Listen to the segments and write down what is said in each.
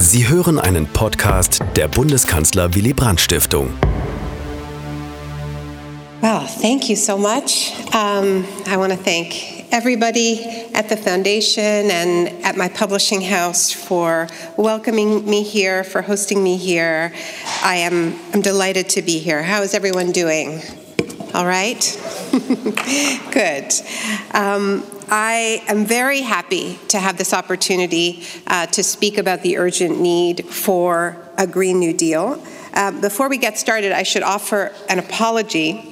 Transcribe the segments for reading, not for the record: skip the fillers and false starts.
Sie hören einen Podcast der Bundeskanzler Willy Brandt Stiftung. Well, thank you so much. I want to thank everybody at the foundation and at my publishing house for welcoming me here, for hosting me here. I'm delighted to be here. How is everyone doing? All right? Good. I am very happy to have this opportunity to speak about the urgent need for a Green New Deal. Before we get started, I should offer an apology.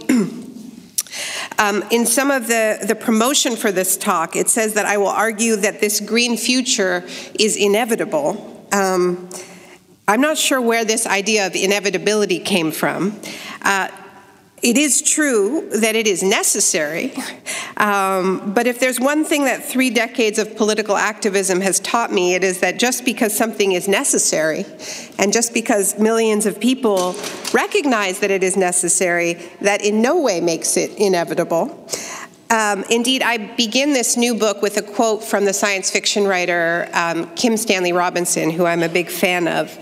In some of the promotion for this talk, it says that I will argue that this green future is inevitable. I'm not sure where this idea of inevitability came from. It is true that it is necessary, but if there's one thing that 3 decades of political activism has taught me, it is that just because something is necessary, and just because millions of people recognize that it is necessary, that in no way makes it inevitable. Indeed, I begin this new book with a quote from the science fiction writer Kim Stanley Robinson, who I'm a big fan of.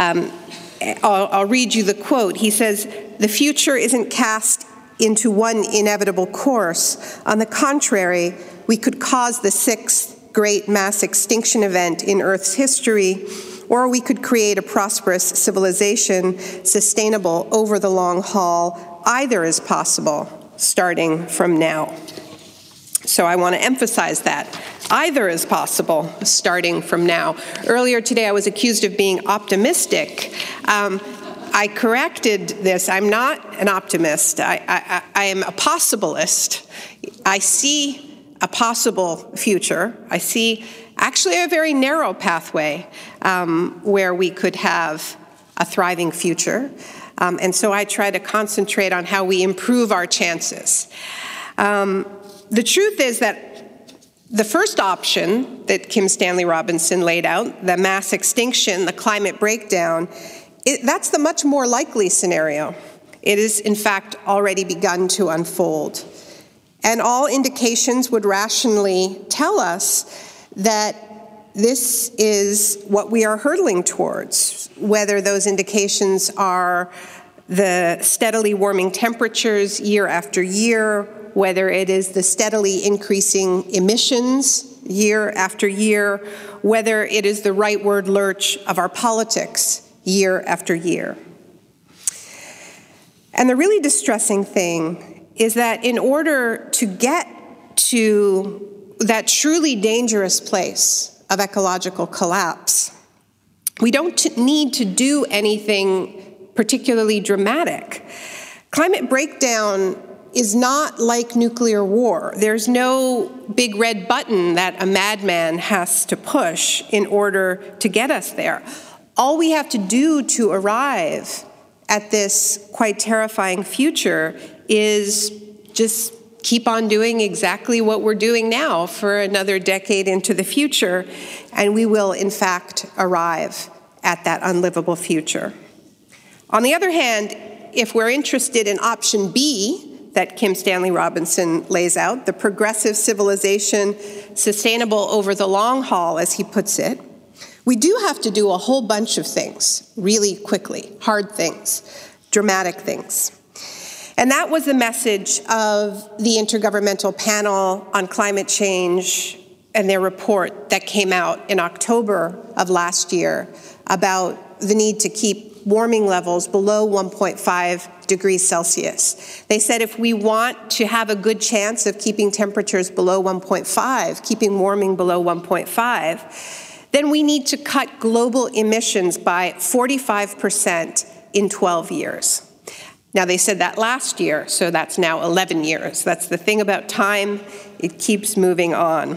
I'll read you the quote. He says, "The future isn't cast into one inevitable course. On the contrary, we could cause the 6th great mass extinction event in Earth's history, or we could create a prosperous civilization sustainable over the long haul. Either is possible, starting from now." So I want to emphasize that. Either is possible, starting from now. Earlier today, I was accused of being optimistic. I corrected this. I'm not an optimist. I am a possibilist. I see a possible future. I see actually a very narrow pathway where we could have a thriving future. And so I try to concentrate on how we improve our chances. The truth is that the first option that Kim Stanley Robinson laid out, the mass extinction, the climate breakdown, that's the much more likely scenario. It is, in fact, already begun to unfold. And all indications would rationally tell us that this is what we are hurtling towards, whether those indications are the steadily warming temperatures year after year, whether it is the steadily increasing emissions year after year, whether it is the rightward lurch of our politics year after year. And the really distressing thing is that in order to get to that truly dangerous place of ecological collapse, we don't need to do anything particularly dramatic. Climate breakdown is not like nuclear war. There's no big red button that a madman has to push in order to get us there. All we have to do to arrive at this quite terrifying future is just keep on doing exactly what we're doing now for another decade into the future, and we will, in fact, arrive at that unlivable future. On the other hand, if we're interested in option B, that Kim Stanley Robinson lays out, the progressive civilization sustainable over the long haul, as he puts it, we do have to do a whole bunch of things really quickly, hard things, dramatic things. And that was the message of the Intergovernmental Panel on Climate Change and their report that came out in October of last year about the need to keep warming levels below 1.5 degrees Celsius. They said if we want to have a good chance of keeping temperatures below 1.5, keeping warming below 1.5, then we need to cut global emissions by 45% in 12 years. Now, they said that last year, so that's now 11 years. That's the thing about time. It keeps moving on.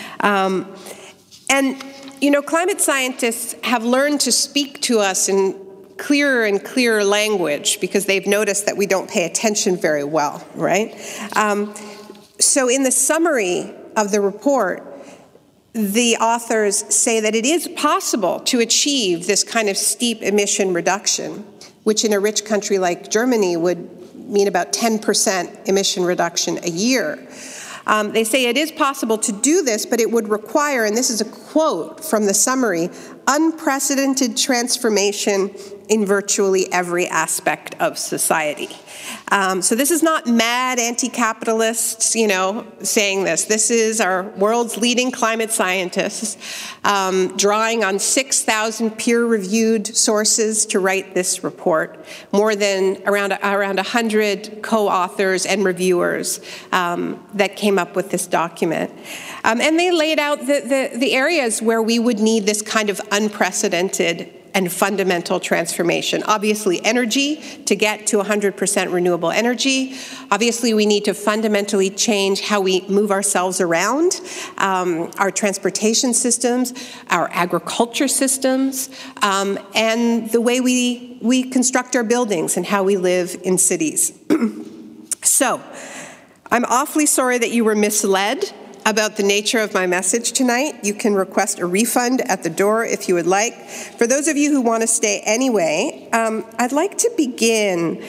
And, you know, climate scientists have learned to speak to us in clearer and clearer language because they've noticed that we don't pay attention very well, right? So in the summary of the report, the authors say that it is possible to achieve this kind of steep emission reduction, which in a rich country like Germany would mean about 10% emission reduction a year. They say it is possible to do this, but it would require, and this is a quote from the summary, unprecedented transformation in virtually every aspect of society. So this is not mad anti-capitalists, saying this. This is our world's leading climate scientists drawing on 6,000 peer-reviewed sources to write this report, more than around 100 co-authors and reviewers that came up with this document. And they laid out the areas where we would need this kind of unprecedented and fundamental transformation. Obviously, energy, to get to 100% renewable energy. Obviously, we need to fundamentally change how we move ourselves around, our transportation systems, our agriculture systems, and the way we construct our buildings and how we live in cities. So, I'm awfully sorry that you were misled about the nature of my message tonight. You can request a refund at the door if you would like. For those of you who want to stay anyway, I'd like to begin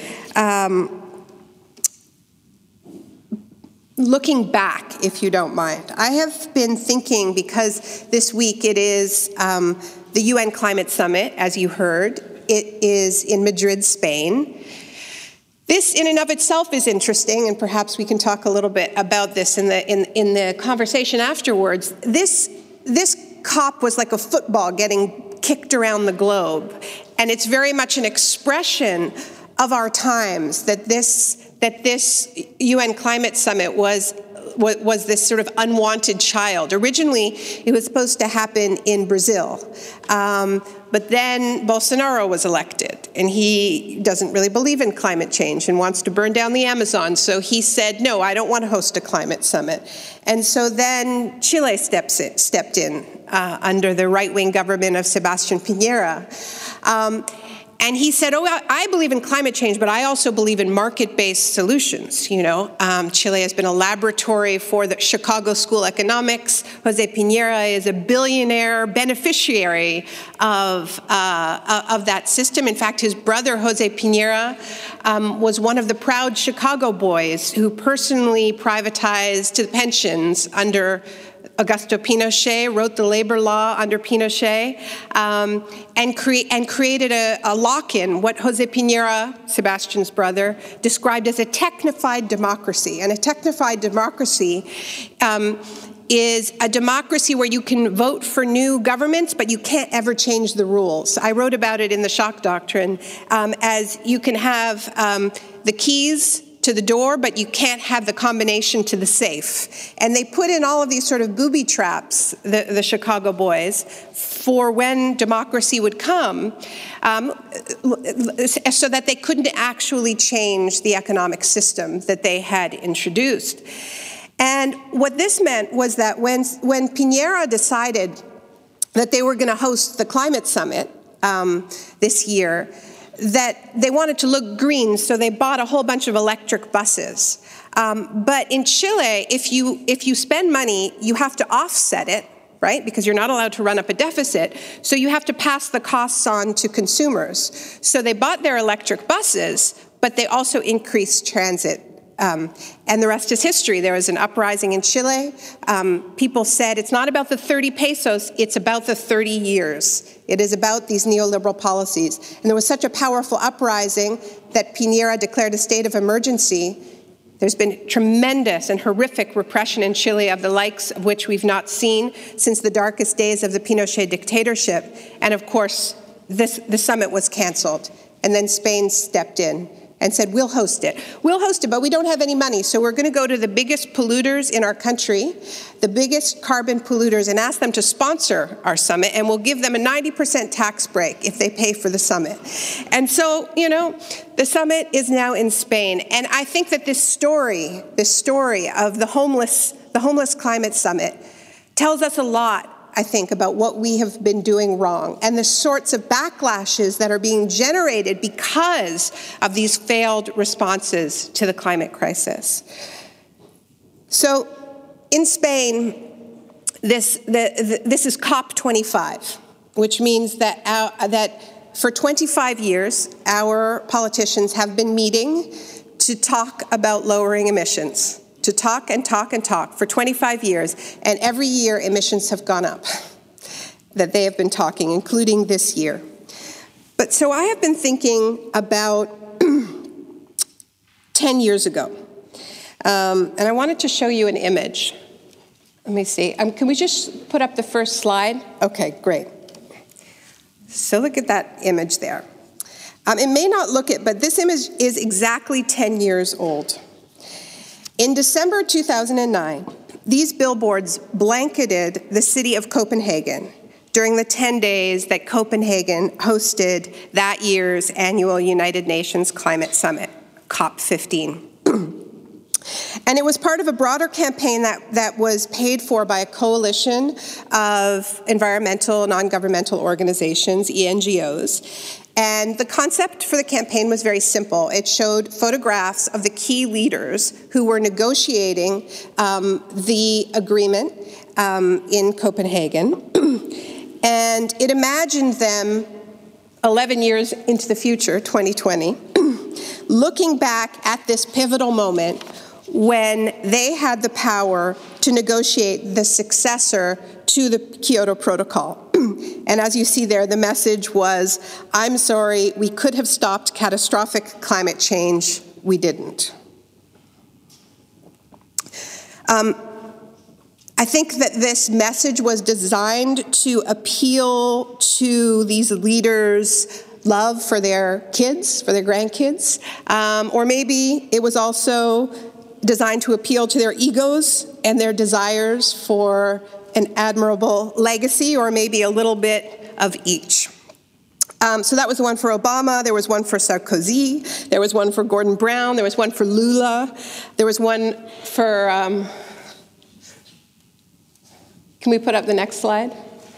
looking back, if you don't mind. I have been thinking, because this week it is the UN Climate Summit, as you heard. It is in Madrid, Spain. This in and of itself is interesting, and perhaps we can talk a little bit about this in the conversation afterwards. This COP was like a football getting kicked around the globe, and it's very much an expression of our times that this UN Climate Summit was this sort of unwanted child. Originally, it was supposed to happen in Brazil, but then Bolsonaro was elected, and he doesn't really believe in climate change and wants to burn down the Amazon, so he said, no, I don't want to host a climate summit. And so then Chile stepped in under the right-wing government of Sebastián Piñera. And he said, I believe in climate change, but I also believe in market-based solutions. Chile has been a laboratory for the Chicago School of Economics. Jose Piñera is a billionaire beneficiary of that system. In fact, his brother, Jose Piñera, was one of the proud Chicago boys who personally privatized the pensions under Augusto Pinochet, wrote the labor law under Pinochet, and created a lock-in, what Jose Piñera, Sebastián's brother, described as a technified democracy. And a technified democracy is a democracy where you can vote for new governments, but you can't ever change the rules. I wrote about it in the Shock Doctrine, as you can have the keys to the door, but you can't have the combination to the safe. And they put in all of these sort of booby traps, the Chicago boys, for when democracy would come, so that they couldn't actually change the economic system that they had introduced. And what this meant was that when Piñera decided that they were going to host the climate summit this year, that they wanted to look green, so they bought a whole bunch of electric buses. But in Chile, if you spend money, you have to offset it, right? Because you're not allowed to run up a deficit. So you have to pass the costs on to consumers. So they bought their electric buses, but they also increased transit. And the rest is history. There was an uprising in Chile. People said it's not about the 30 pesos, it's about the 30 years. It is about these neoliberal policies. And there was such a powerful uprising that Piñera declared a state of emergency. There's been tremendous and horrific repression in Chile of the likes of which we've not seen since the darkest days of the Pinochet dictatorship. And of course, the summit was canceled. And then Spain stepped in and said, we'll host it. We'll host it, but we don't have any money, so we're going to go to the biggest polluters in our country, the biggest carbon polluters, and ask them to sponsor our summit, and we'll give them a 90% tax break if they pay for the summit. And so, the summit is now in Spain, and I think that this story of the homeless climate summit tells us a lot, I think, about what we have been doing wrong and the sorts of backlashes that are being generated because of these failed responses to the climate crisis. So in Spain, this is COP25, which means that for 25 years, our politicians have been meeting to talk about lowering emissions. to talk and talk and talk for 25 years, and every year emissions have gone up that they have been talking, including this year. But so I have been thinking about 10 years ago, and I wanted to show you an image. Let me see. Can we just put up the first slide? Okay, great. So look at that image there. It may not look it, but this image is exactly 10 years old. In December 2009, these billboards blanketed the city of Copenhagen during the 10 days that Copenhagen hosted that year's annual United Nations Climate Summit, COP15. And it was part of a broader campaign that was paid for by a coalition of environmental, non-governmental organizations, ENGOs. And the concept for the campaign was very simple. It showed photographs of the key leaders who were negotiating the agreement in Copenhagen. And it imagined them 11 years into the future, 2020, looking back at this pivotal moment when they had the power to negotiate the successor to the Kyoto Protocol. And as you see there, the message was, I'm sorry, we could have stopped catastrophic climate change, we didn't. I think that this message was designed to appeal to these leaders' love for their kids, for their grandkids, or maybe it was also designed to appeal to their egos and their desires for an admirable legacy, or maybe a little bit of each. So that was the one for Obama, there was one for Sarkozy, there was one for Gordon Brown, there was one for Lula, there was one for, can we put up the next slide?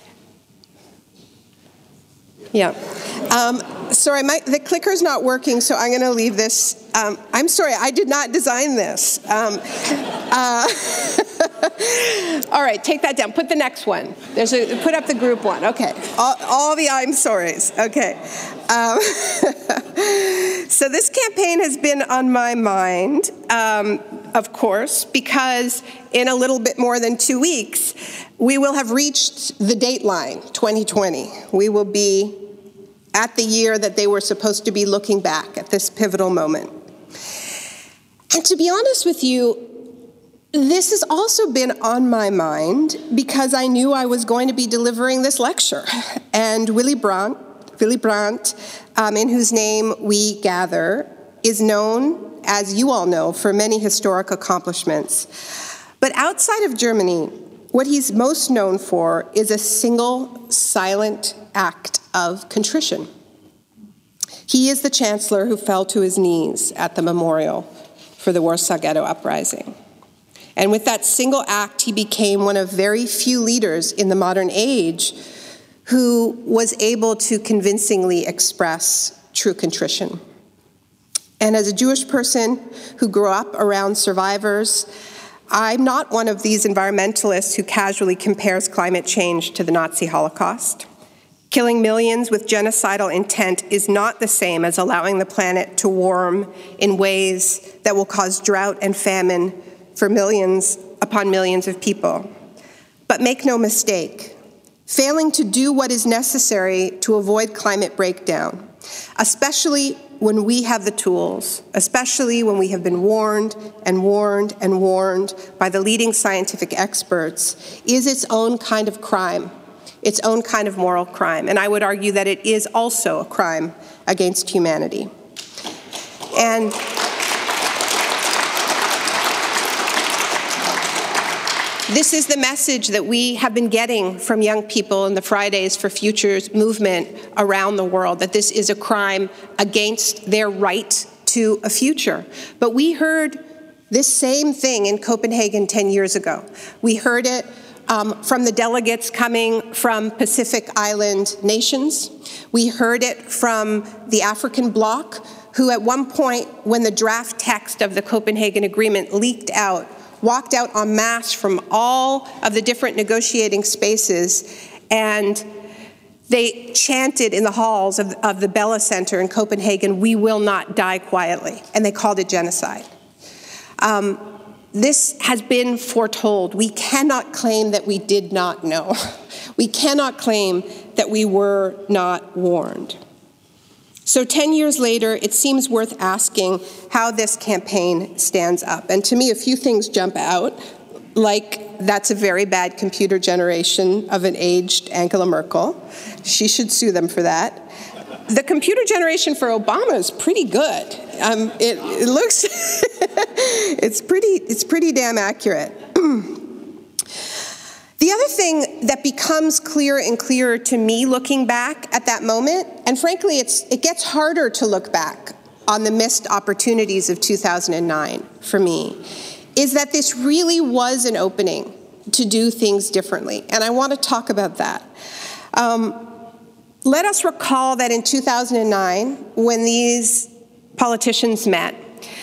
Yeah. Sorry, the clicker's not working, so I'm going to leave this. I'm sorry, I did not design this. All right, take that down. Put the next one. Put up the group one. Okay. All the I'm sorries. Okay. So this campaign has been on my mind, of course, because in a little bit more than 2 weeks, we will have reached the dateline, 2020. We will be at the year that they were supposed to be looking back at this pivotal moment. And to be honest with you, this has also been on my mind because I knew I was going to be delivering this lecture. And Willy Brandt, in whose name we gather, is known, as you all know, for many historic accomplishments. But outside of Germany, what he's most known for is a single silent act of contrition. He is the chancellor who fell to his knees at the memorial for the Warsaw Ghetto Uprising. And with that single act, he became one of very few leaders in the modern age who was able to convincingly express true contrition. And as a Jewish person who grew up around survivors, I'm not one of these environmentalists who casually compares climate change to the Nazi Holocaust. Killing millions with genocidal intent is not the same as allowing the planet to warm in ways that will cause drought and famine for millions upon millions of people. But make no mistake, failing to do what is necessary to avoid climate breakdown, especially when we have the tools, especially when we have been warned and warned and warned by the leading scientific experts, is its own kind of crime, its own kind of moral crime. And I would argue that it is also a crime against humanity. And this is the message that we have been getting from young people in the Fridays for Futures movement around the world, that this is a crime against their right to a future. But we heard this same thing in Copenhagen 10 years ago. We heard it from the delegates coming from Pacific Island nations. We heard it from the African bloc, who at one point, when the draft text of the Copenhagen Agreement leaked out, walked out en masse from all of the different negotiating spaces, and they chanted in the halls of the Bella Center in Copenhagen, "We will not die quietly," and they called it genocide. This has been foretold. We cannot claim that we did not know. We cannot claim that we were not warned. So 10 years later, it seems worth asking how this campaign stands up. And to me, a few things jump out, like that's a very bad computer generation of an aged Angela Merkel. She should sue them for that. The computer generation for Obama is pretty good. It looks, it's pretty damn accurate. The other thing that becomes clearer and clearer to me looking back at that moment, and frankly, it gets harder to look back on the missed opportunities of 2009 for me, is that this really was an opening to do things differently. And I want to talk about that. Let us recall that in 2009, when these politicians met,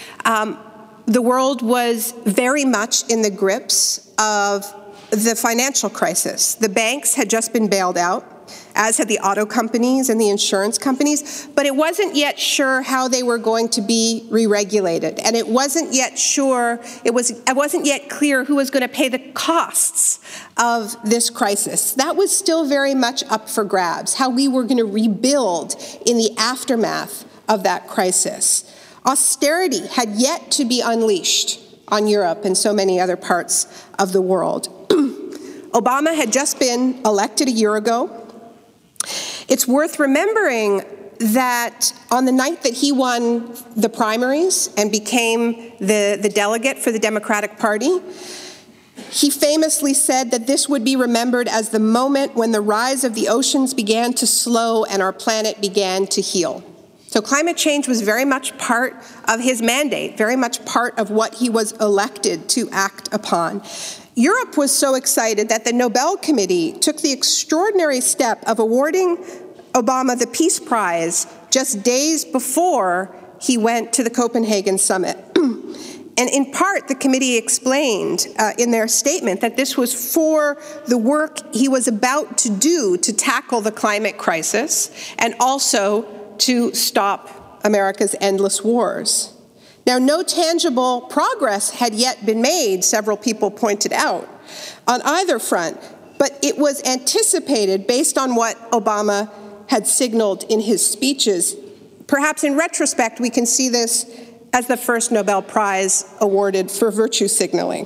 the world was very much in the grips of the financial crisis. The banks had just been bailed out, as had the auto companies and the insurance companies, but it wasn't yet sure how they were going to be re-regulated. And it wasn't yet sure, it wasn't yet clear who was going to pay the costs of this crisis. That was still very much up for grabs, how we were going to rebuild in the aftermath of that crisis. Austerity had yet to be unleashed on Europe and so many other parts of the world. Obama had just been elected a year ago. It's worth remembering that on the night that he won the primaries and became the delegate for the Democratic Party, he famously said that this would be remembered as the moment when the rise of the oceans began to slow and our planet began to heal. So climate change was very much part of his mandate, very much part of what he was elected to act upon. Europe was so excited that the Nobel Committee took the extraordinary step of awarding Obama the Peace Prize just days before he went to the Copenhagen summit. And in part, the committee explained in their statement that this was for the work he was about to do to tackle the climate crisis and also to stop America's endless wars. Now, no tangible progress had yet been made, several people pointed out, on either front, but it was anticipated based on what Obama had signaled in his speeches. Perhaps in retrospect, we can see this as the first Nobel Prize awarded for virtue signaling.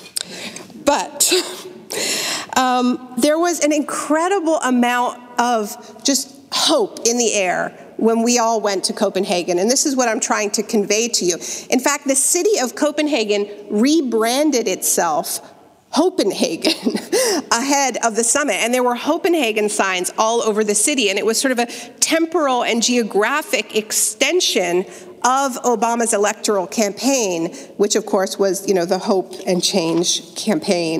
But there was an incredible amount of just hope in the air when we all went to Copenhagen, and this is what I'm trying to convey to you. In fact, the city of Copenhagen rebranded itself Hopenhagen ahead of the summit, and there were Hopenhagen signs all over the city, and it was sort of a temporal and geographic extension of Obama's electoral campaign, which of course was, the Hope and Change campaign.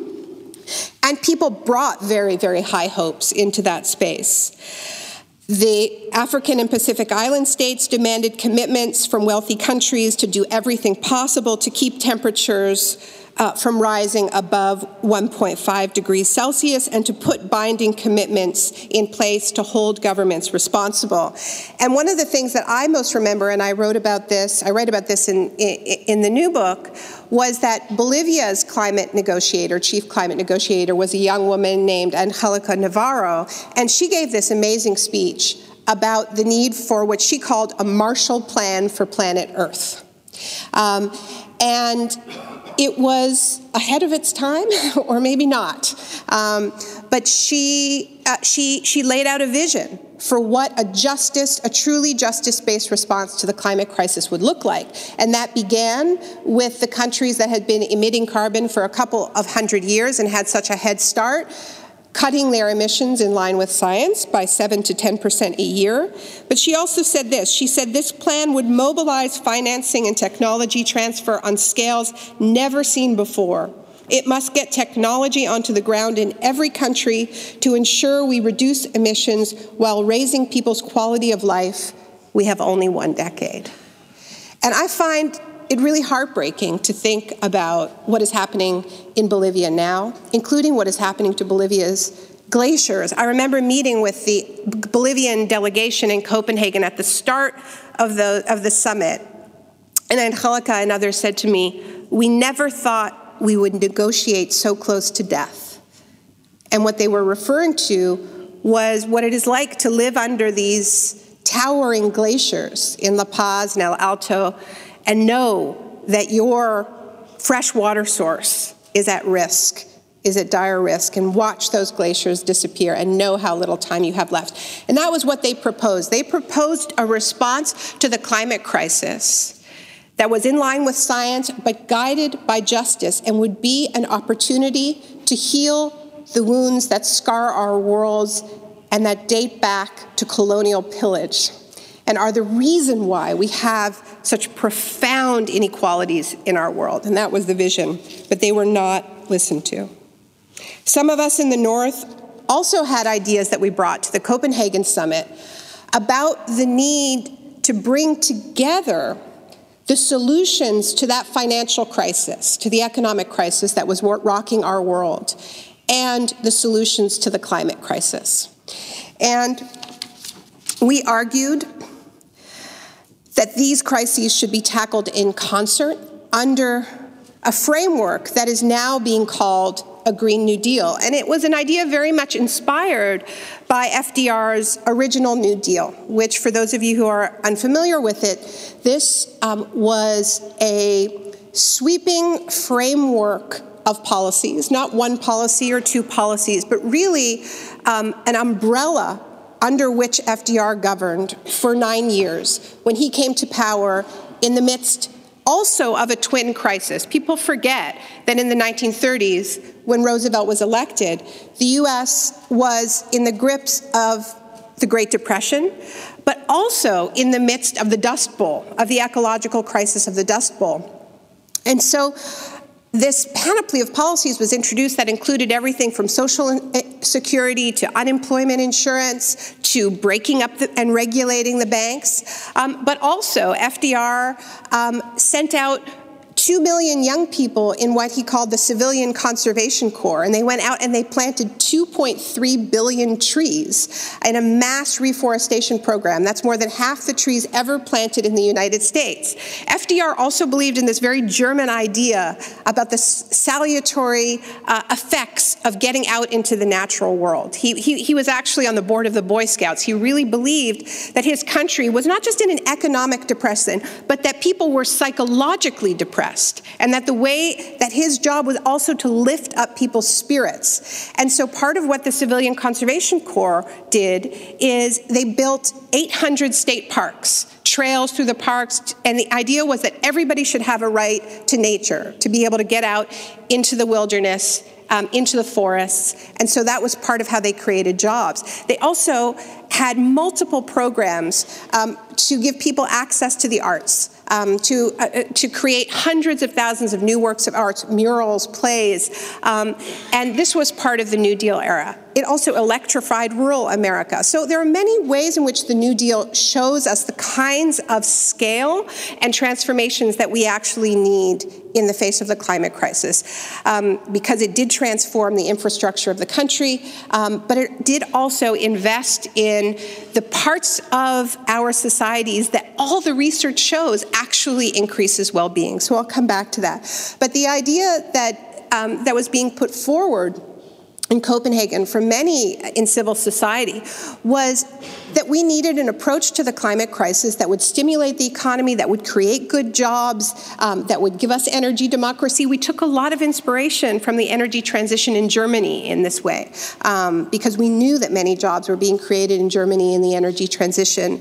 And people brought very, very high hopes into that space. The African and Pacific Island states demanded commitments from wealthy countries to do everything possible to keep temperatures from rising above 1.5 degrees Celsius and to put binding commitments in place to hold governments responsible. And one of the things that I most remember, and I write about this in the new book, was that Bolivia's chief climate negotiator, was a young woman named Angelica Navarro, and she gave this amazing speech about the need for what she called a Marshall Plan for planet Earth. And it was ahead of its time, or maybe not. But she laid out a vision for what a truly justice-based response to the climate crisis would look like. And that began with the countries that had been emitting carbon for a couple of hundred years and had such a head start, cutting their emissions in line with science by 7 to 10% a year. But she also said this. She said this plan would mobilize financing and technology transfer on scales never seen before. It must get technology onto the ground in every country to ensure we reduce emissions while raising people's quality of life. We have only 1 decade. And I find it really heartbreaking to think about what is happening in Bolivia now, including what is happening to Bolivia's glaciers. I remember meeting with the Bolivian delegation in Copenhagen at the start of the summit, and Angelica and others said to me, we never thought we would negotiate so close to death. And what they were referring to was what it is like to live under these towering glaciers in La Paz and El Alto and know that your fresh water source is at risk, is at dire risk, and watch those glaciers disappear and know how little time you have left. And that was what they proposed. They proposed a response to the climate crisis that was in line with science, but guided by justice, and would be an opportunity to heal the wounds that scar our worlds and that date back to colonial pillage, and are the reason why we have such profound inequalities in our world. And that was the vision, but they were not listened to. Some of us in the North also had ideas that we brought to the Copenhagen Summit about the need to bring together the solutions to that financial crisis, to the economic crisis that was rocking our world, and the solutions to the climate crisis. And we argued that these crises should be tackled in concert under a framework that is now being called a Green New Deal. And it was an idea very much inspired by FDR's original New Deal, which, for those of you who are unfamiliar with it, this was a sweeping framework of policies, not one policy or two policies, but really an umbrella under which FDR governed for 9 years when he came to power in the midst also of a twin crisis. People forget that in the 1930s, when Roosevelt was elected, the U.S. was in the grips of the Great Depression, but also in the midst of the Dust Bowl, of the ecological crisis of the Dust Bowl. And so this panoply of policies was introduced that included everything from social security to unemployment insurance to breaking up and regulating the banks. But also FDR sent out 2 million young people in what he called the Civilian Conservation Corps, and they went out and they planted 2.3 billion trees in a mass reforestation program. That's more than half the trees ever planted in the United States. FDR also believed in this very German idea about the salutary effects of getting out into the natural world. He was actually on the board of the Boy Scouts. He really believed that his country was not just in an economic depression, but that people were psychologically depressed, and that the way that his job was also to lift up people's spirits. And so part of what the Civilian Conservation Corps did is they built 800 state parks, trails through the parks, and the idea was that everybody should have a right to nature, to be able to get out into the wilderness, into the forests, and so that was part of how they created jobs. They also had multiple programs to give people access to the arts, to create hundreds of thousands of new works of art, murals, plays, and this was part of the New Deal era. It also electrified rural America. So there are many ways in which the New Deal shows us the kinds of scale and transformations that we actually need in the face of the climate crisis, because it did transform the infrastructure of the country, but it did also invest in the parts of our societies that all the research shows actually increases well-being. So I'll come back to that. But the idea that that was being put forward in Copenhagen for many in civil society was that we needed an approach to the climate crisis that would stimulate the economy, that would create good jobs, that would give us energy democracy. We took a lot of inspiration from the energy transition in Germany in this way, because we knew that many jobs were being created in Germany in the energy transition,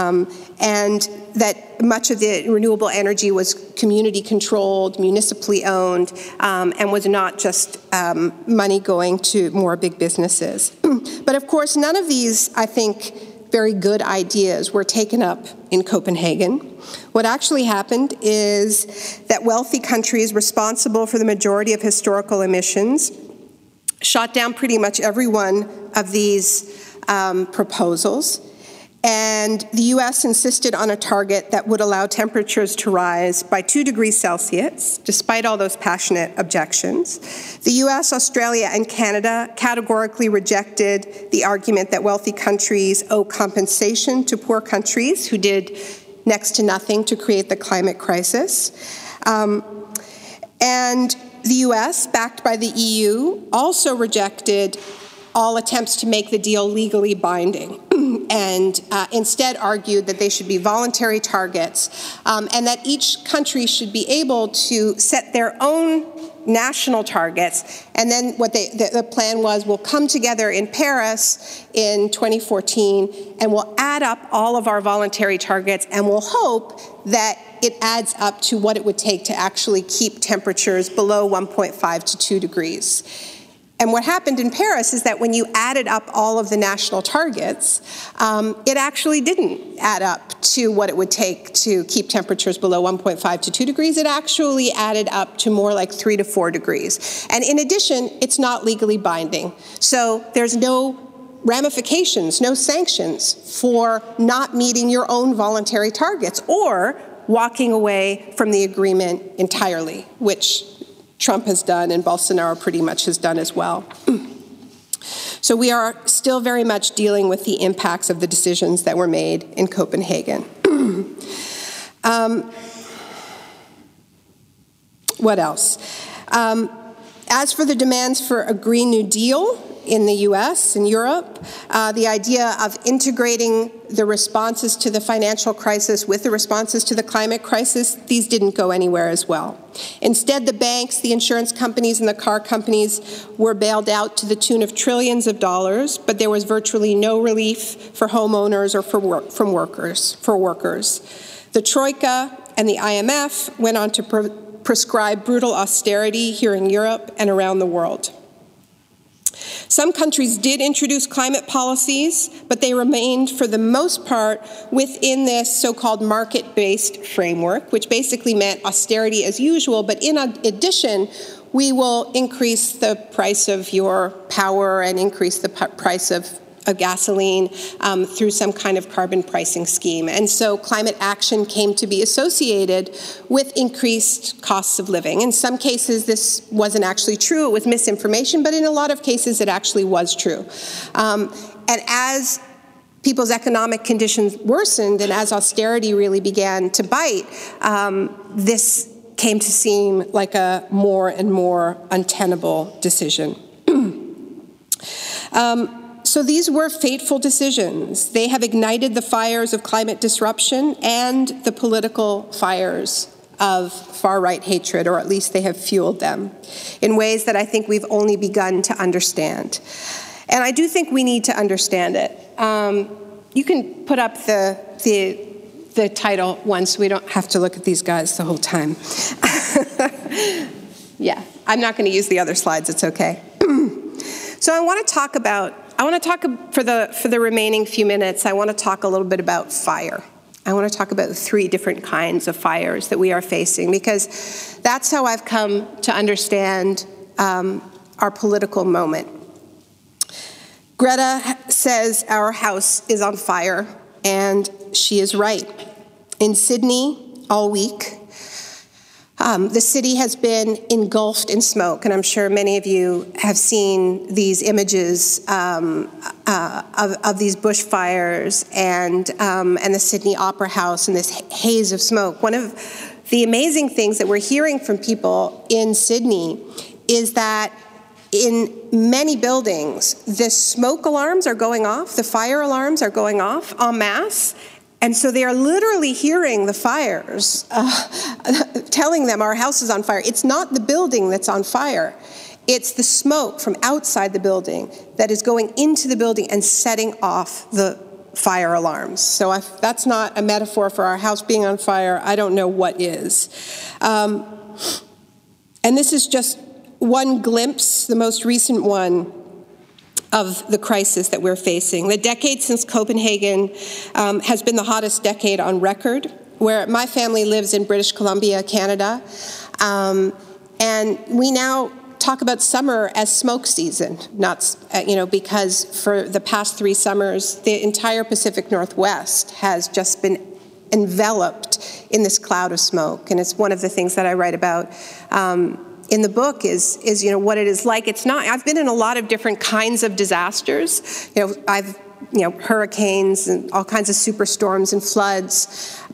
and that much of the renewable energy was community controlled, municipally owned, and was not just money going to more big businesses. But of course, none of these, I think, very good ideas were taken up in Copenhagen. What actually happened is that wealthy countries responsible for the majority of historical emissions shot down pretty much every one of these proposals. And the U.S. insisted on a target that would allow temperatures to rise by 2 degrees Celsius, despite all those passionate objections. The U.S., Australia, and Canada categorically rejected the argument that wealthy countries owe compensation to poor countries who did next to nothing to create the climate crisis. And the US, backed by the EU, also rejected all attempts to make the deal legally binding and instead argued that they should be voluntary targets and that each country should be able to set their own national targets. And then what the plan was, we'll come together in Paris in 2014 and we'll add up all of our voluntary targets and we'll hope that it adds up to what it would take to actually keep temperatures below 1.5 to 2 degrees. And what happened in Paris is that when you added up all of the national targets, it actually didn't add up to what it would take to keep temperatures below 1.5 to 2 degrees. It actually added up to more like 3 to 4 degrees. And in addition, it's not legally binding. So there's no ramifications, no sanctions for not meeting your own voluntary targets or walking away from the agreement entirely, which Trump has done and Bolsonaro pretty much has done as well. So we are still very much dealing with the impacts of the decisions that were made in Copenhagen. What else? As for the demands for a Green New Deal in the US and Europe, the idea of integrating the responses to the financial crisis with the responses to the climate crisis, these didn't go anywhere as well. Instead, the banks, the insurance companies, and the car companies were bailed out to the tune of trillions of dollars, but there was virtually no relief for homeowners or for workers. The Troika and the IMF went on to prescribe brutal austerity here in Europe and around the world. Some countries did introduce climate policies, but they remained, for the most part, within this so-called market-based framework, which basically meant austerity as usual, but in addition, we will increase the price of your power and increase the price of gasoline through some kind of carbon pricing scheme. And so climate action came to be associated with increased costs of living. In some cases, this wasn't actually true. It was misinformation, but in a lot of cases, it actually was true. And as people's economic conditions worsened and as austerity really began to bite, this came to seem like a more and more untenable decision. So these were fateful decisions. They have ignited the fires of climate disruption and the political fires of far-right hatred, or at least they have fueled them in ways that I think we've only begun to understand. And I do think we need to understand it. You can put up the title once so we don't have to look at these guys the whole time. Yeah, I'm not going to use the other slides. It's okay. So I want to talk for the remaining few minutes, I want to talk a little bit about fire. I want to talk about 3 different kinds of fires that we are facing, because that's how I've come to understand our political moment. Greta says our house is on fire, and she is right. In Sydney all week, the city has been engulfed in smoke, and I'm sure many of you have seen these images of these bushfires and the Sydney Opera House and this haze of smoke. One of the amazing things that we're hearing from people in Sydney is that in many buildings, the smoke alarms are going off, the fire alarms are going off en masse. And so they are literally hearing the fires, telling them our house is on fire. It's not the building that's on fire. It's the smoke from outside the building that is going into the building and setting off the fire alarms. So if that's not a metaphor for our house being on fire, I don't know what is. And this is just one glimpse, the most recent one, of the crisis that we're facing. The decade since Copenhagen has been the hottest decade on record, where my family lives in British Columbia, Canada, and we now talk about summer as smoke season, not, because for the past 3 summers, the entire Pacific Northwest has just been enveloped in this cloud of smoke, and it's one of the things that I write about in the book is what it is like. I've been in a lot of different kinds of disasters. I've hurricanes and all kinds of superstorms and floods.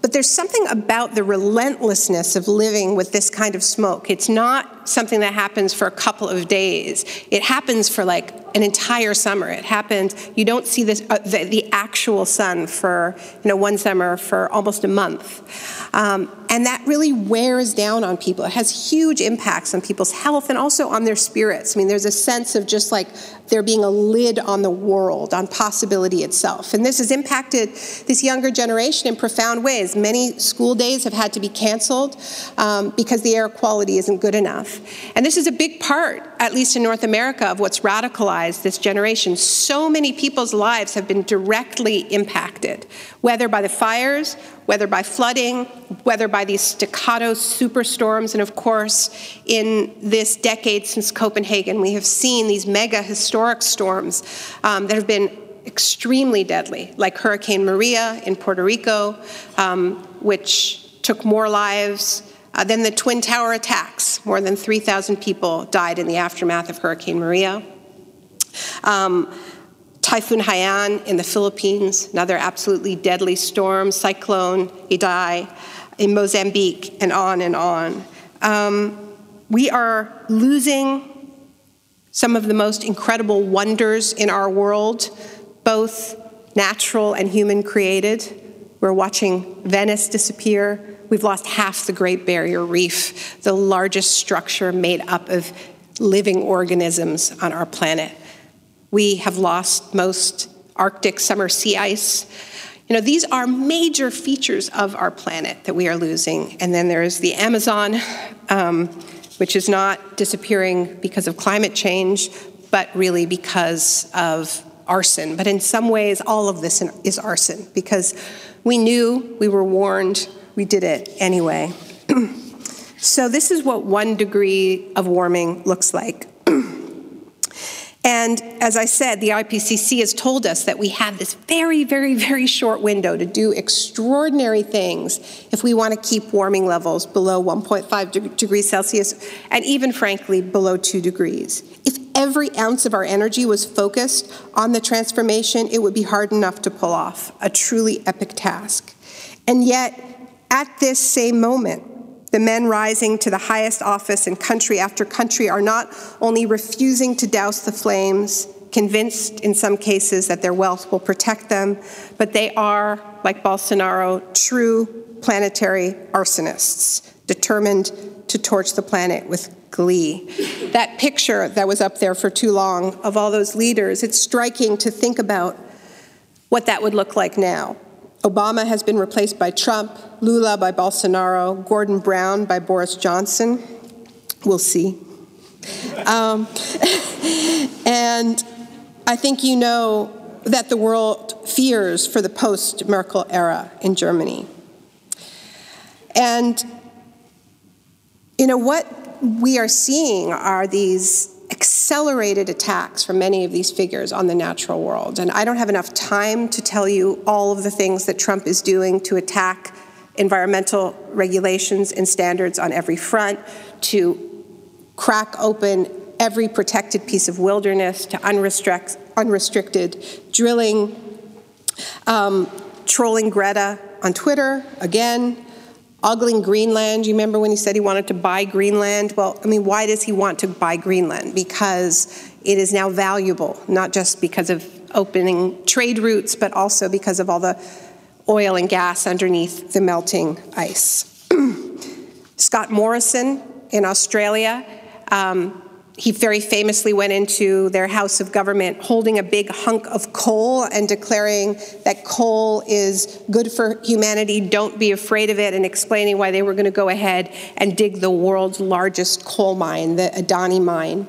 But there's something about the relentlessness of living with this kind of smoke. It's not something that happens for a couple of days. It happens for like an entire summer. It happened, you don't see this, the actual sun for one summer for almost a month. And that really wears down on people. It has huge impacts on people's health and also on their spirits. I mean, there's a sense of just like there being a lid on the world, on possibility itself. And this has impacted this younger generation in profound ways. Many school days have had to be canceled because the air quality isn't good enough. And this is a big part, at least in North America, of what's radicalized this generation. So many people's lives have been directly impacted, whether by the fires, whether by flooding, whether by these staccato superstorms. And of course, in this decade since Copenhagen, we have seen these mega historic storms that have been extremely deadly, like Hurricane Maria in Puerto Rico, which took more lives than the Twin Tower attacks. More than 3,000 people died in the aftermath of Hurricane Maria. Typhoon Haiyan in the Philippines, another absolutely deadly storm, Cyclone Idai in Mozambique, and on and on. We are losing some of the most incredible wonders in our world, both natural and human created. We're watching Venice disappear. We've lost half the Great Barrier Reef, the largest structure made up of living organisms on our planet. We have lost most Arctic summer sea ice. These are major features of our planet that we are losing. And then there's the Amazon, which is not disappearing because of climate change, but really because of arson. But in some ways, all of this is arson, because we knew, we were warned, we did it anyway. So this is what 1 degree of warming looks like. And as I said, the IPCC has told us that we have this very, very, very short window to do extraordinary things if we want to keep warming levels below 1.5 degrees Celsius, and even, frankly, below 2 degrees. If every ounce of our energy was focused on the transformation, it would be hard enough to pull off, a truly epic task. And yet, at this same moment, the men rising to the highest office in country after country are not only refusing to douse the flames, convinced in some cases that their wealth will protect them, but they are, like Bolsonaro, true planetary arsonists, determined to torch the planet with glee. That picture that was up there for too long of all those leaders, it's striking to think about what that would look like now. Obama has been replaced by Trump, Lula by Bolsonaro, Gordon Brown by Boris Johnson. We'll see. And I think you know that the world fears for the post-Merkel era in Germany. And what we are seeing are these accelerated attacks from many of these figures on the natural world. And I don't have enough time to tell you all of the things that Trump is doing to attack environmental regulations and standards on every front, to crack open every protected piece of wilderness, to unrestricted drilling, trolling Greta on Twitter, again, ogling Greenland. You remember when he said he wanted to buy Greenland? Well, why does he want to buy Greenland? Because it is now valuable, not just because of opening trade routes, but also because of all the oil and gas underneath the melting ice. Scott Morrison in Australia, he very famously went into their House of Government holding a big hunk of coal and declaring that coal is good for humanity, don't be afraid of it, and explaining why they were going to go ahead and dig the world's largest coal mine, the Adani mine.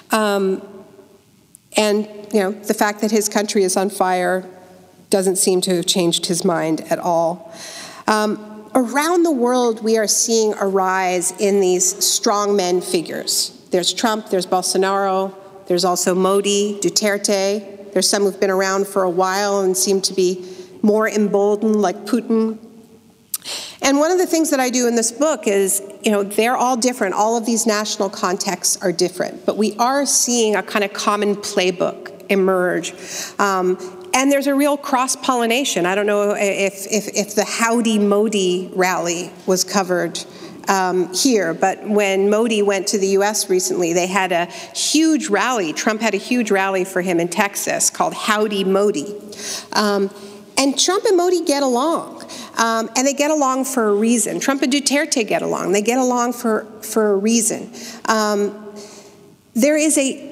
And the fact that his country is on fire doesn't seem to have changed his mind at all. Around the world, we are seeing a rise in these strongmen figures. There's Trump, there's Bolsonaro, there's also Modi, Duterte. There's some who've been around for a while and seem to be more emboldened, like Putin. And one of the things that I do in this book is, they're all different. All of these national contexts are different, but we are seeing a kind of common playbook emerge. And there's a real cross-pollination. I don't know if the Howdy Modi rally was covered here, but when Modi went to the U.S. recently, they had a huge rally. Trump had a huge rally for him in Texas called Howdy Modi. And Trump and Modi get along, and they get along for a reason. Trump and Duterte get along. They get along for a reason. There is a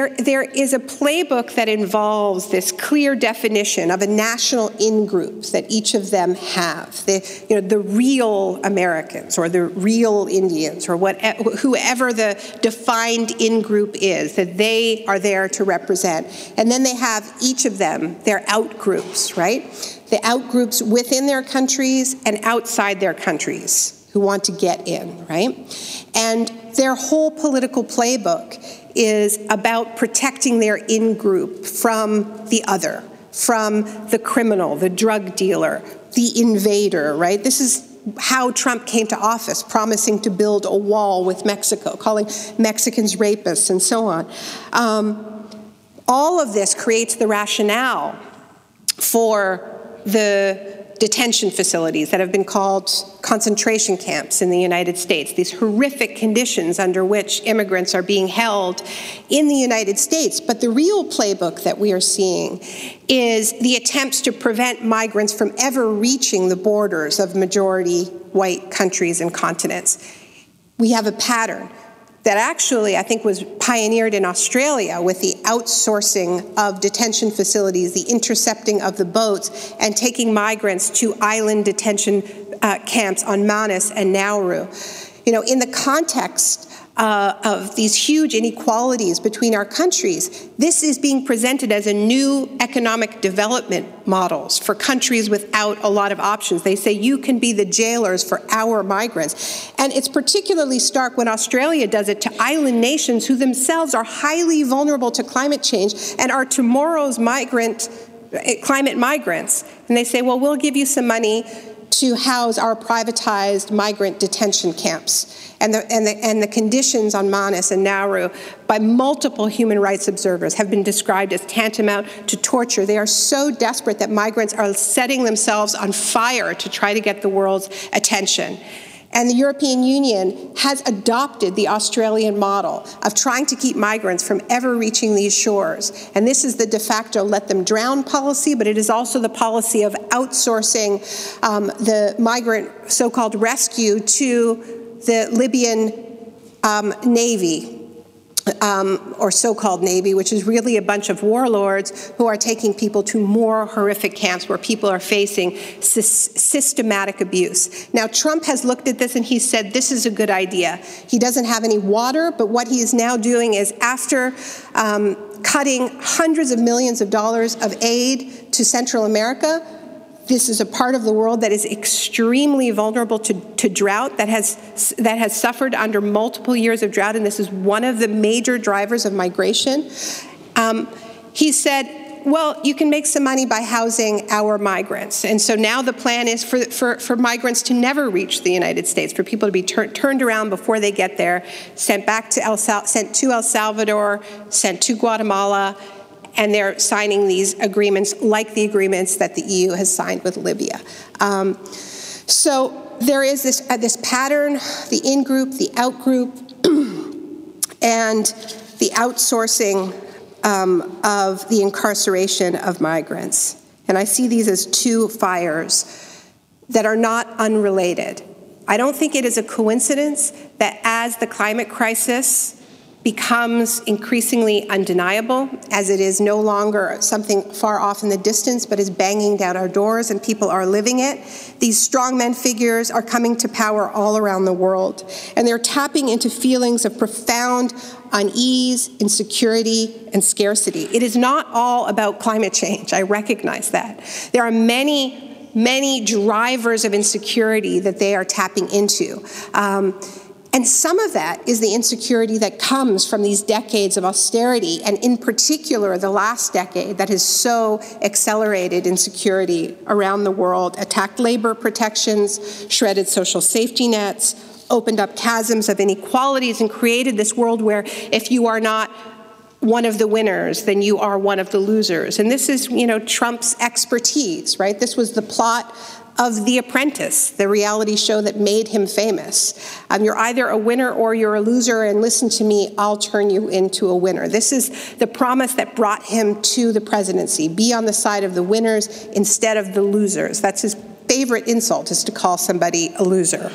playbook that involves this clear definition of a national in-group that each of them have. The real Americans or the real Indians or whoever the defined in-group is that they are there to represent. And then they have each of them their out-groups, right? The out-groups within their countries and outside their countries who want to get in, right? And their whole political playbook is about protecting their in-group from the other, from the criminal, the drug dealer, the invader, right? This is how Trump came to office, promising to build a wall with Mexico, calling Mexicans rapists, and so on. All of this creates the rationale for the detention facilities that have been called concentration camps in the United States, these horrific conditions under which immigrants are being held in the United States. But the real playbook that we are seeing is the attempts to prevent migrants from ever reaching the borders of majority white countries and continents. We have a pattern that actually, I think, was pioneered in Australia with the outsourcing of detention facilities, the intercepting of the boats, and taking migrants to island detention camps on Manus and Nauru. In the context of these huge inequalities between our countries, this is being presented as a new economic development models for countries without a lot of options. They say you can be the jailers for our migrants. And it's particularly stark when Australia does it to island nations who themselves are highly vulnerable to climate change and are tomorrow's climate migrants. And they say, well, we'll give you some money to house our privatized migrant detention camps. And the conditions on Manus and Nauru by multiple human rights observers have been described as tantamount to torture. They are so desperate that migrants are setting themselves on fire to try to get the world's attention. And the European Union has adopted the Australian model of trying to keep migrants from ever reaching these shores. And this is the de facto let them drown policy, but it is also the policy of outsourcing the migrant so-called rescue to the Libyan Navy, or so-called Navy, which is really a bunch of warlords who are taking people to more horrific camps where people are facing systematic abuse. Now, Trump has looked at this and he said, this is a good idea. He doesn't have any water, but what he is now doing is after cutting hundreds of millions of dollars of aid to Central America, this is a part of the world that is extremely vulnerable to drought, that has suffered under multiple years of drought, and this is one of the major drivers of migration. He said, well, you can make some money by housing our migrants. And so now the plan is for migrants to never reach the United States, for people to be turned around before they get there, sent to El Salvador, sent to Guatemala, and they're signing these agreements like the agreements that the EU has signed with Libya. So there is this pattern, the in-group, the out-group, and the outsourcing of the incarceration of migrants. And I see these as two fires that are not unrelated. I don't think it is a coincidence that as the climate crisis becomes increasingly undeniable, as it is no longer something far off in the distance, but is banging down our doors and people are living it, these strongman figures are coming to power all around the world. And they're tapping into feelings of profound unease, insecurity, and scarcity. It is not all about climate change. I recognize that. There are many drivers of insecurity that they are tapping into. And some of that is the insecurity that comes from these decades of austerity, and in particular, the last decade that has so accelerated insecurity around the world, attacked labor protections, shredded social safety nets, opened up chasms of inequalities, and created this world where if you are not one of the winners, then you are one of the losers. And this is, Trump's expertise, right? This was the plot of The Apprentice, the reality show that made him famous. You're either a winner or you're a loser, and listen to me, I'll turn you into a winner. This is the promise that brought him to the presidency. Be on the side of the winners instead of the losers. That's his favorite insult, is to call somebody a loser.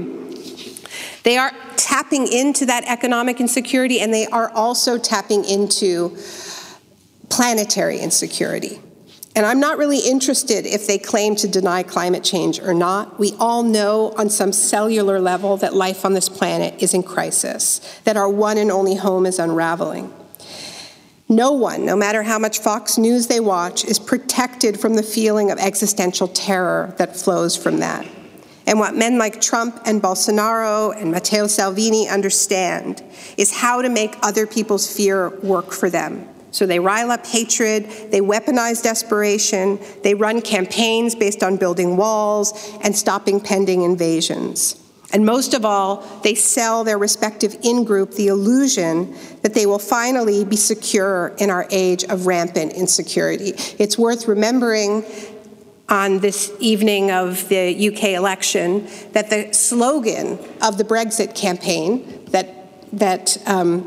They are tapping into that economic insecurity, and they are also tapping into planetary insecurity. And I'm not really interested if they claim to deny climate change or not. We all know on some cellular level that life on this planet is in crisis, that our one and only home is unraveling. No one, no matter how much Fox News they watch, is protected from the feeling of existential terror that flows from that. And what men like Trump and Bolsonaro and Matteo Salvini understand is how to make other people's fear work for them. So they rile up hatred, they weaponize desperation, they run campaigns based on building walls and stopping pending invasions. And most of all, they sell their respective in-group the illusion that they will finally be secure in our age of rampant insecurity. It's worth remembering on this evening of the UK election that the slogan of the Brexit campaign that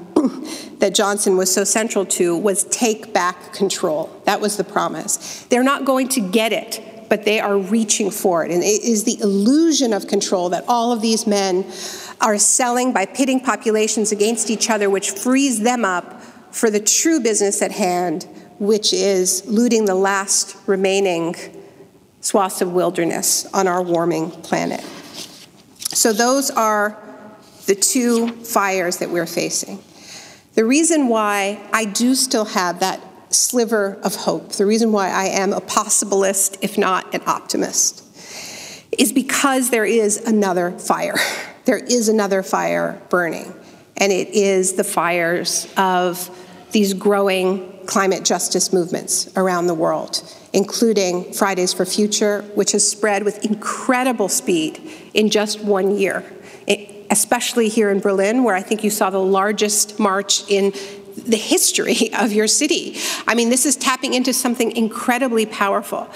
Johnson was so central to was "Take back control." That was the promise. They're not going to get it, but they are reaching for it. And it is the illusion of control that all of these men are selling by pitting populations against each other, which frees them up for the true business at hand, which is looting the last remaining swaths of wilderness on our warming planet. So those are the two fires that we're facing. The reason why I do still have that sliver of hope, the reason why I am a possibilist, if not an optimist, is because there is another fire. There is another fire burning, and it is the fires of these growing climate justice movements around the world, including Fridays for Future, which has spread with incredible speed in just 1 year, especially here in Berlin, where I think you saw the largest march in the history of your city. I mean, this is tapping into something incredibly powerful.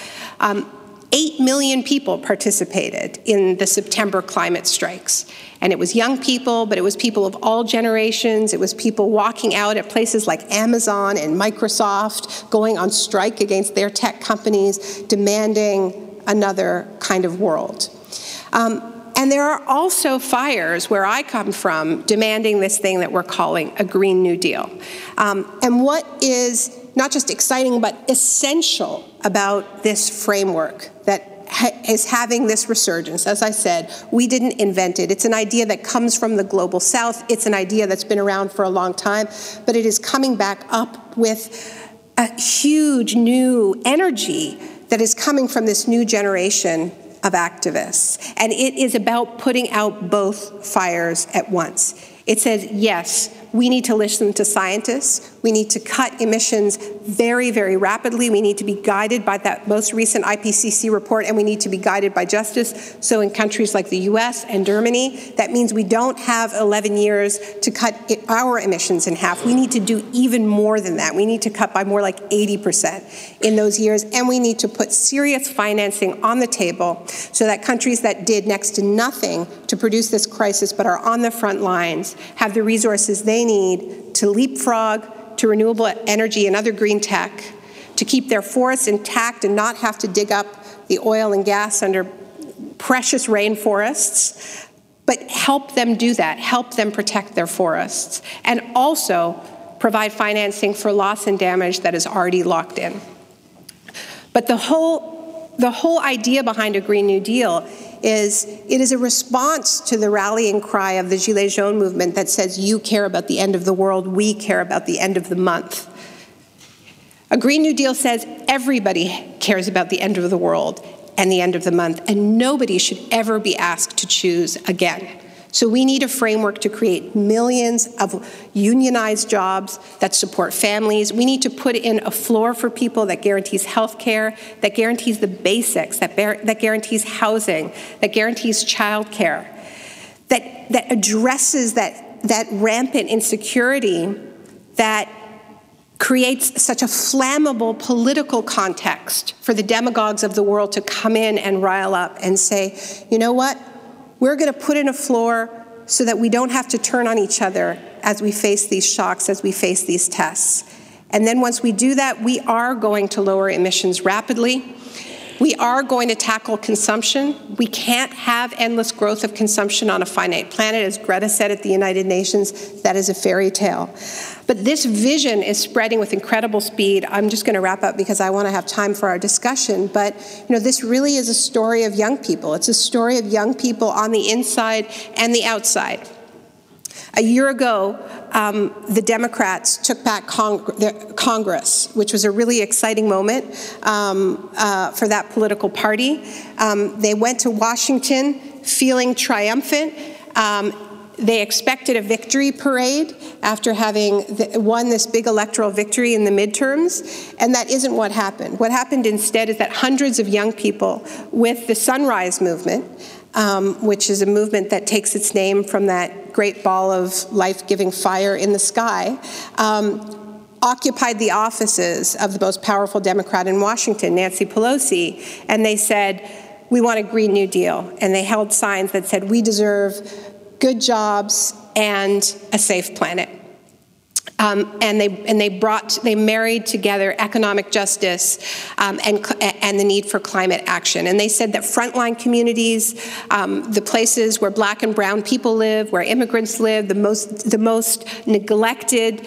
8 million people participated in the September climate strikes. And it was young people, but it was people of all generations. It was people walking out at places like Amazon and Microsoft, going on strike against their tech companies, demanding another kind of world. And there are also fires where I come from demanding this thing that we're calling a Green New Deal. And what is not just exciting, but essential about this framework that is having this resurgence. As I said, we didn't invent it. It's an idea that comes from the global south. It's an idea that's been around for a long time, but it is coming back up with a huge new energy that is coming from this new generation of activists. And it is about putting out both fires at once. It says, yes, we need to listen to scientists. We need to cut emissions very, very rapidly. We need to be guided by that most recent IPCC report, and we need to be guided by justice. So in countries like the US and Germany, that means we don't have 11 years to cut our emissions in half. We need to do even more than that. We need to cut by more like 80% in those years, and we need to put serious financing on the table so that countries that did next to nothing to produce this crisis but are on the front lines have the resources they need to leapfrog to renewable energy and other green tech, to keep their forests intact and not have to dig up the oil and gas under precious rainforests, but help them do that, help them protect their forests, and also provide financing for loss and damage that is already locked in. But the whole idea behind a Green New Deal is it is a response to the rallying cry of the Gilets Jaunes movement that says, you care about the end of the world, we care about the end of the month. A Green New Deal says everybody cares about the end of the world and the end of the month, and nobody should ever be asked to choose again. So we need a framework to create millions of unionized jobs that support families. We need to put in a floor for people that guarantees health care, that guarantees the basics, that guarantees housing, that guarantees child care, that addresses that rampant insecurity that creates such a flammable political context for the demagogues of the world to come in and rile up and say, you know what, we're going to put in a floor so that we don't have to turn on each other as we face these shocks, as we face these tests. And then once we do that, we are going to lower emissions rapidly. We are going to tackle consumption. We can't have endless growth of consumption on a finite planet. As Greta said at the United Nations, that is a fairy tale. But this vision is spreading with incredible speed. I'm just going to wrap up because I want to have time for our discussion. But this really is a story of young people. It's a story of young people on the inside and the outside. A year ago, the Democrats took back Congress, which was a really exciting moment for that political party. They went to Washington feeling triumphant. They expected a victory parade after having won this big electoral victory in the midterms, and that isn't what happened. What happened instead is that hundreds of young people with the Sunrise Movement, which is a movement that takes its name from that great ball of life-giving fire in the sky, occupied the offices of the most powerful Democrat in Washington, Nancy Pelosi, and they said, we want a Green New Deal. And they held signs that said, we deserve good jobs and a safe planet. And they married together economic justice and the need for climate action. And they said that frontline communities, the places where Black and brown people live, where immigrants live, the most neglected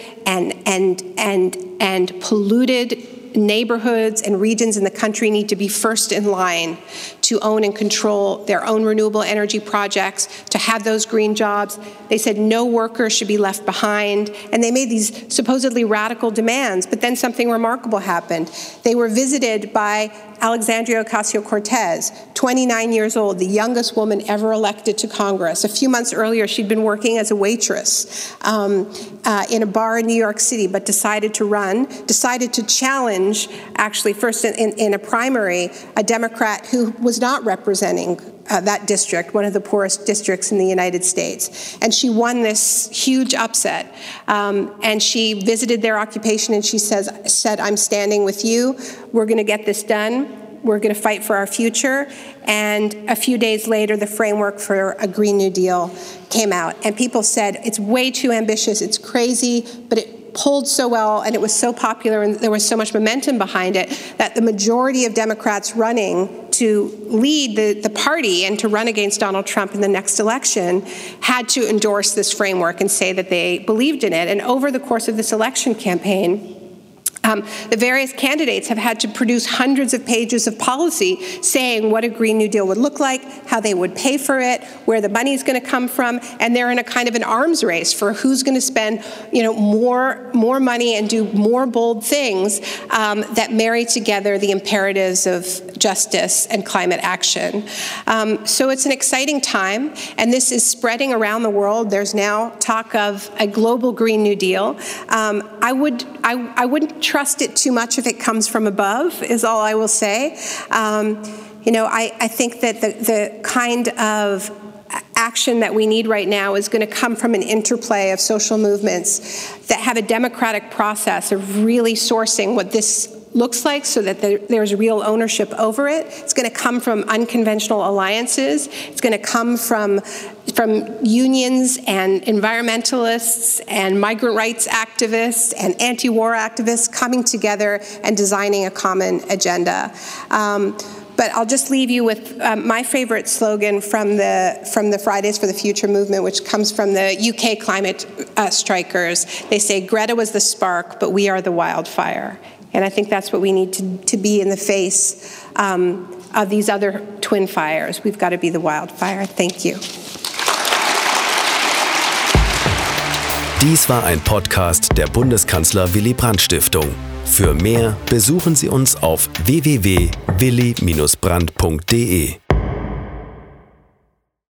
and polluted neighborhoods and regions in the country need to be first in line to own and control their own renewable energy projects, to have those green jobs. They said no worker should be left behind, and they made these supposedly radical demands, but then something remarkable happened. They were visited by Alexandria Ocasio-Cortez, 29 years old, the youngest woman ever elected to Congress. A few months earlier, she'd been working as a waitress in a bar in New York City, but decided to challenge, actually first in a primary, a Democrat who was not representing that district, one of the poorest districts in the United States. And she won this huge upset. And she visited their occupation and she said, I'm standing with you. We're going to get this done. We're going to fight for our future. And a few days later, the framework for a Green New Deal came out. And people said, it's way too ambitious, it's crazy, but it polled so well and it was so popular and there was so much momentum behind it that the majority of Democrats running to lead the party and to run against Donald Trump in the next election had to endorse this framework and say that they believed in it. And over the course of this election campaign, the various candidates have had to produce hundreds of pages of policy saying what a Green New Deal would look like, how they would pay for it, where the money is going to come from, and they're in a kind of an arms race for who's going to spend, more money and do more bold things that marry together the imperatives of justice and climate action. So it's an exciting time, and this is spreading around the world. There's now talk of a global Green New Deal. I wouldn't trust it too much if it comes from above, is all I will say. I think that the kind of action that we need right now is going to come from an interplay of social movements that have a democratic process of really sourcing what this looks like so that there's real ownership over it. It's going to come from unconventional alliances. It's going to come from unions and environmentalists and migrant rights activists and anti-war activists coming together and designing a common agenda. But I'll just leave you with my favorite slogan from the Fridays for the Future movement, which comes from the UK climate strikers. They say, Greta was the spark, but we are the wildfire. And I think that's what we need to be in the face of these other twin fires. We've got to be the wildfire. Thank you. Dies war ein Podcast der Bundeskanzler Willy Brandt Stiftung. Für mehr besuchen Sie uns auf www.willy-brandt.de.